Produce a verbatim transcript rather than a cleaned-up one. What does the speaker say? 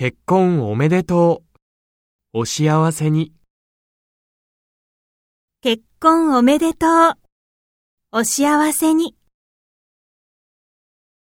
結婚おめでとう。お幸せに。 結婚おめでとう。お幸せに。